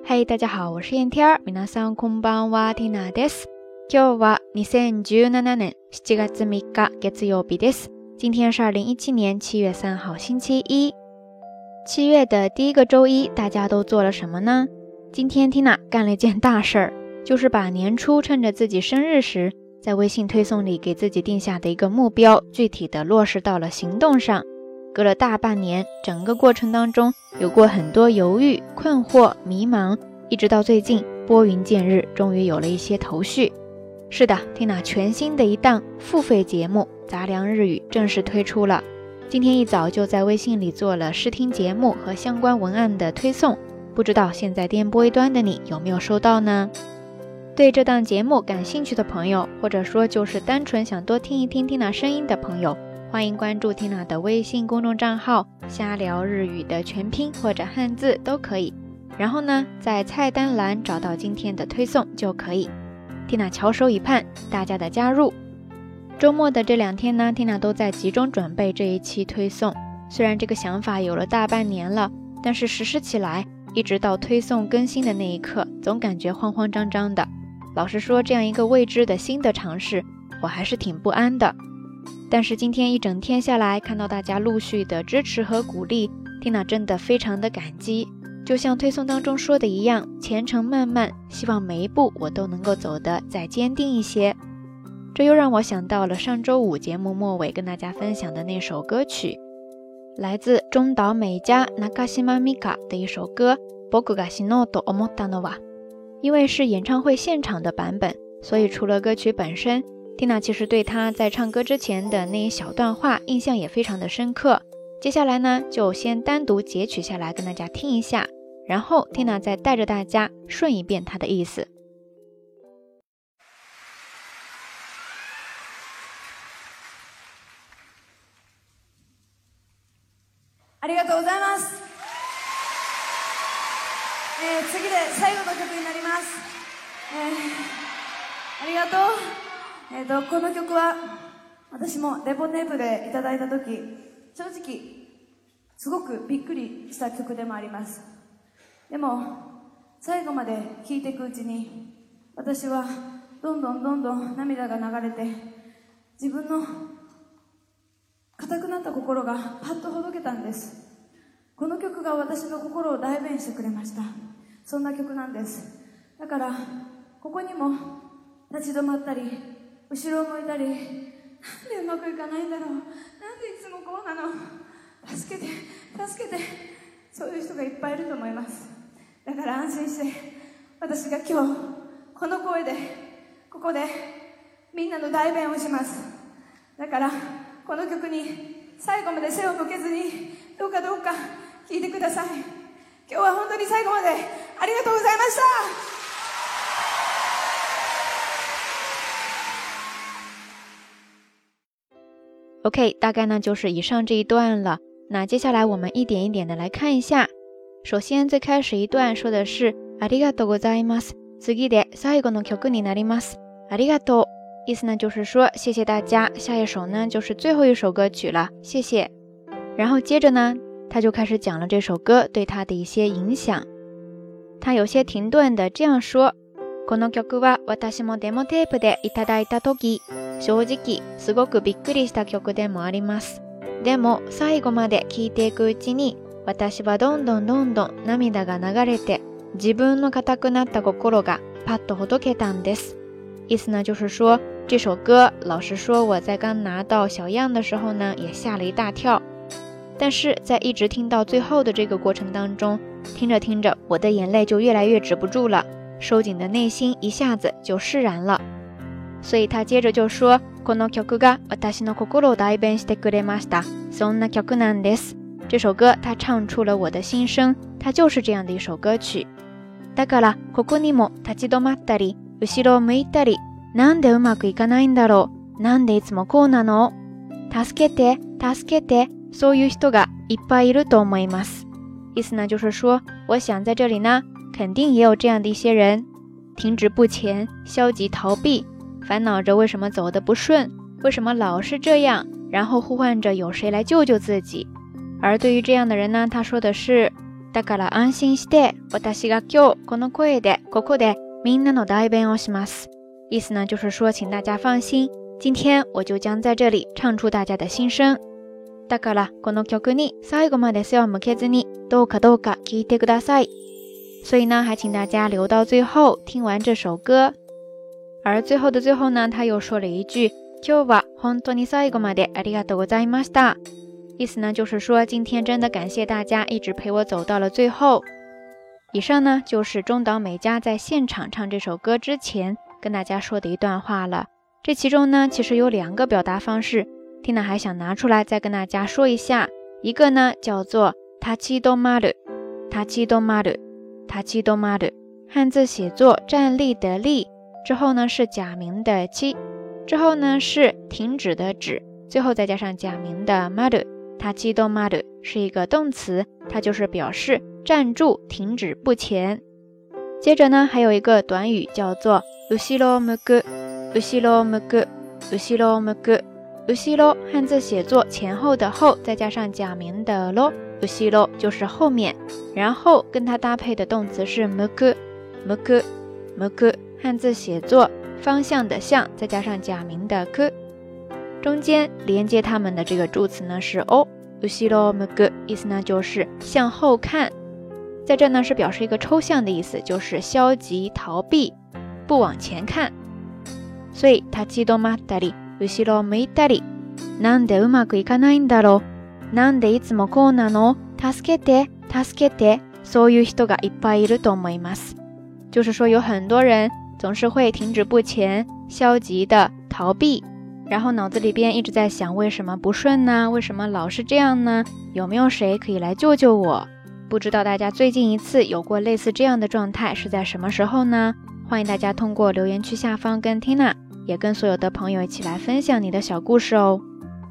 嘿，大家好，我是燕天儿。皆さんこんばんは、ティナです。今日は2017年7月3日月曜日です。今天是2017年7月3号星期一。7月的第一个周一，大家都做了什么呢？今天 Tina 干了一件大事儿，就是把年初趁着自己生日时，在微信推送里给自己定下的一个目标，具体的落实到了行动上。隔了大半年，整个过程当中有过很多犹豫、困惑、迷茫，一直到最近拨云见日，终于有了一些头绪。是的， Tina 全新的一档付费节目杂粮日语正式推出了。今天一早就在微信里做了试听节目和相关文案的推送，不知道现在电波一端的你有没有收到呢？对这档节目感兴趣的朋友，或者说就是单纯想多听一听 Tina 声音的朋友，欢迎关注 Tina 的微信公众账号瞎聊日语的全拼或者汉字都可以，然后呢在菜单栏找到今天的推送就可以。 Tina 翘首以盼大家的加入。周末的这2天呢， Tina 都在集中准备这一期推送。虽然这个想法有了大半年了，但是实施起来一直到推送更新的那一刻，总感觉慌慌张张的。老实说，这样一个未知的新的尝试，我还是挺不安的。但是今天一整天下来，看到大家陆续的支持和鼓励， Tina 真的非常的感激。就像推送当中说的一样，前程漫漫，希望每一步我都能够走得再坚定一些。这又让我想到了上周五节目末尾跟大家分享的那首歌曲，来自中岛美嘉 Nakashima Mika 的一首歌僕が死のうと思ったのは。因为是演唱会现场的版本，所以除了歌曲本身， Tina 其实对她在唱歌之前的那一小段话印象也非常的深刻。接下来呢，就先单独截取下来跟大家听一下，然后 Tina 再带着大家顺一遍她的意思。 ありがとうございます。次で最後の曲になります。ありがとう。この曲は私もレポテープでいただいた時、正直すごくびっくりした曲でもあります。でも最後まで聴いていくうちに、私はどんどん涙が流れて、自分の硬くなった心がパッとほどけたんです。この曲が私の心を代弁してくれました。そんな曲なんです。だからここにも立ち止まったり、後ろを向いたり、なんでうまくいかないんだろう、なんでいつもこうなの、助けてそういう人がいっぱいいると思います。だから安心して、私が今日この声でここでみんなの代弁をします。だからこの曲に最後まで背を向けずに、どうか聴いてください。今日は本当に最後までありがとうございました。 OK， 大概呢就是以上这一段了。那接下来我们一点一点的来看一下。首先最开始一段说的是ありがとうございます。次で最後の曲になります。ありがとう。意思呢就是说谢谢大家，下一首呢就是最后一首歌曲了，谢谢。然后接着呢，他就开始讲了这首歌对他的一些影响。他有些停顿的这样说，この曲は私もデモテープでいただいた時、正直すごくびっくりした曲でもあります。でも最後まで聴いていくうちに、私はどんどん涙が流れて、自分の硬くなった心がパッとほどけたんです。意思呢就是说，这首歌老实说我在刚拿到小样的时候呢也吓了一大跳，但是在一直听到最后的这个过程当中，听着我的眼泪就越来越止不住了，收紧的内心一下子就释然了。所以他接着就说，この曲が私の心を代弁してくれました。そんな曲なんです。这首歌他唱出了我的心声，它就是这样的一首歌曲。だからここにも立ち止まったり、後ろを向いたり、なんでうまくいかないんだろう、なんでいつもこうなの、助けてそういう人がいっぱいいると思います。意思呢就是说，我想在这里呢肯定也有这样的一些人，停止不前，消极逃避，烦恼着为什么走得不顺，为什么老是这样，然后呼唤着有谁来救救自己。而对于这样的人呢，他说的是だから安心して私が今日この声でここでみんなの代弁をします。意思呢就是说请大家放心，今天我就将在这里唱出大家的心声。だからこの曲に最後まで背を向けずにどうかどうか聞いてください。所以呢还请大家留到最后听完这首歌。而最后的最后呢他又说了一句今日は本当に最後までありがとうございました。意思呢就是说今天真的感谢大家一直陪我走到了最后。以上呢就是中岛美嘉在现场唱这首歌之前跟大家说的一段话了。这其中呢其实有2个表达方式，Tina 还想拿出来再跟大家说一下。一个呢叫做立ち止まる，立ち止まる，立ち止まる，汉字写作站立的立，之后呢是假名的ち，之后呢是停止的止，最后再加上假名的まる。立ち止まる是一个动词，它就是表示站住停止不前。接着呢还有一个短语叫做後ろ向く，後ろ向く，後ろ向く。後ろ汉字写作前后的后，再加上假名的ろ，後ろ就是后面，然后跟它搭配的动词是向く，向く，向く汉字写作方向的向，再加上假名的く，中间连接它们的这个助词呢是お，後ろ向く，意思呢就是向后看。在这呢是表示一个抽象的意思，就是消极逃避不往前看。所以立ち止まったり後ろ向いたり、なんでうまくいかないんだろう、なんでいつもこうなの、助けて助けて、そういう人がいっぱいいると思います。就是说有很多人总是会停止不前，消极的逃避，然后脑子里边一直在想为什么不顺呢？为什么老是这样呢？有没有谁可以来救救我？不知道大家最近一次有过类似这样的状态是在什么时候呢？欢迎大家通过留言区下方跟 Tina也跟所有的朋友一起来分享你的小故事哦。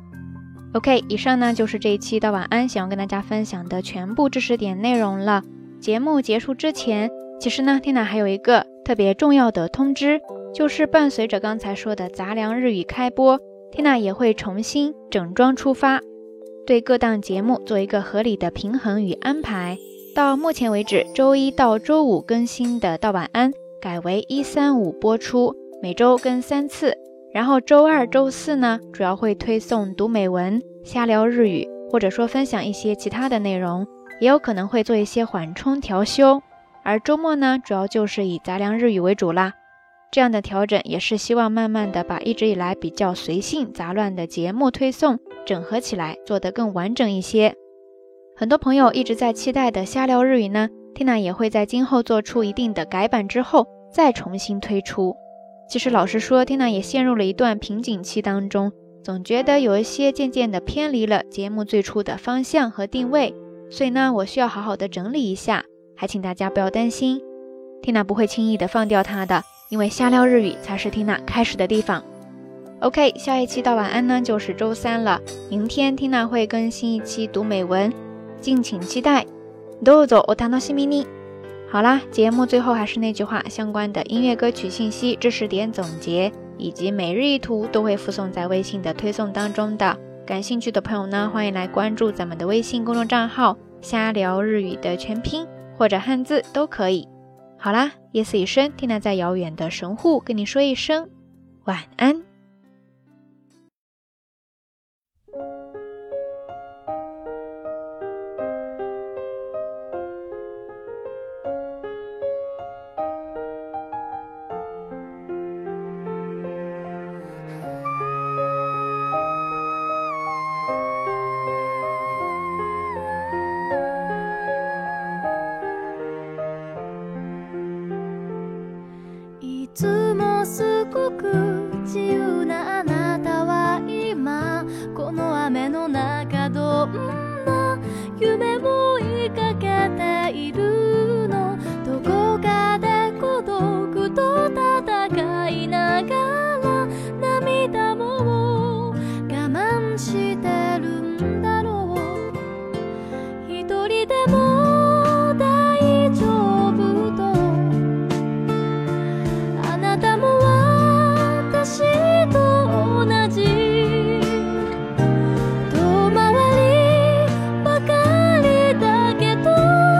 OK， 以上呢就是这一期的晚安想要跟大家分享的全部知识点内容了。节目结束之前，其实呢 Tina 还有一个特别重要的通知，就是伴随着刚才说的杂粮日语开播， Tina 也会重新整装出发，对各档节目做一个合理的平衡与安排。到目前为止，周一到周五更新的到晚安改为1、3、5播出，每周更3次，然后周二、周四呢，主要会推送读美文、瞎聊日语，或者说分享一些其他的内容，也有可能会做一些缓冲调休。而周末呢，主要就是以杂粮日语为主啦。这样的调整也是希望慢慢的把一直以来比较随性杂乱的节目推送整合起来，做得更完整一些。很多朋友一直在期待的瞎聊日语呢， Tina 也会在今后做出一定的改版之后再重新推出。其实老实说 Tina 也陷入了一段瓶颈期当中，总觉得有一些渐渐的偏离了节目最初的方向和定位，所以呢我需要好好的整理一下，还请大家不要担心， Tina 不会轻易的放掉它的，因为瞎聊日语才是 Tina 开始的地方。 OK， 下一期到晚安呢就是周三了，明天 Tina 会更新一期读美文，敬请期待，どうぞお楽しみに。好啦，节目最后还是那句话，相关的音乐歌曲信息、知识点总结以及每日一图都会附送在微信的推送当中的。感兴趣的朋友呢，欢迎来关注咱们的微信公众账号瞎聊日语的全拼或者汉字都可以。好啦，夜色已深，Tina在遥远的神户跟你说一声晚安。 いつもすごく自由なあなたは今この雨の中どんな夢を追いかけているの、どこかで孤独と戦いながら涙も我慢してるんだろう、一人でも大丈夫とあなたも私と同じ遠回りばかりだけど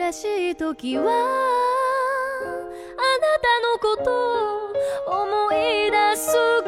悔しい時はあなたのことを思い出す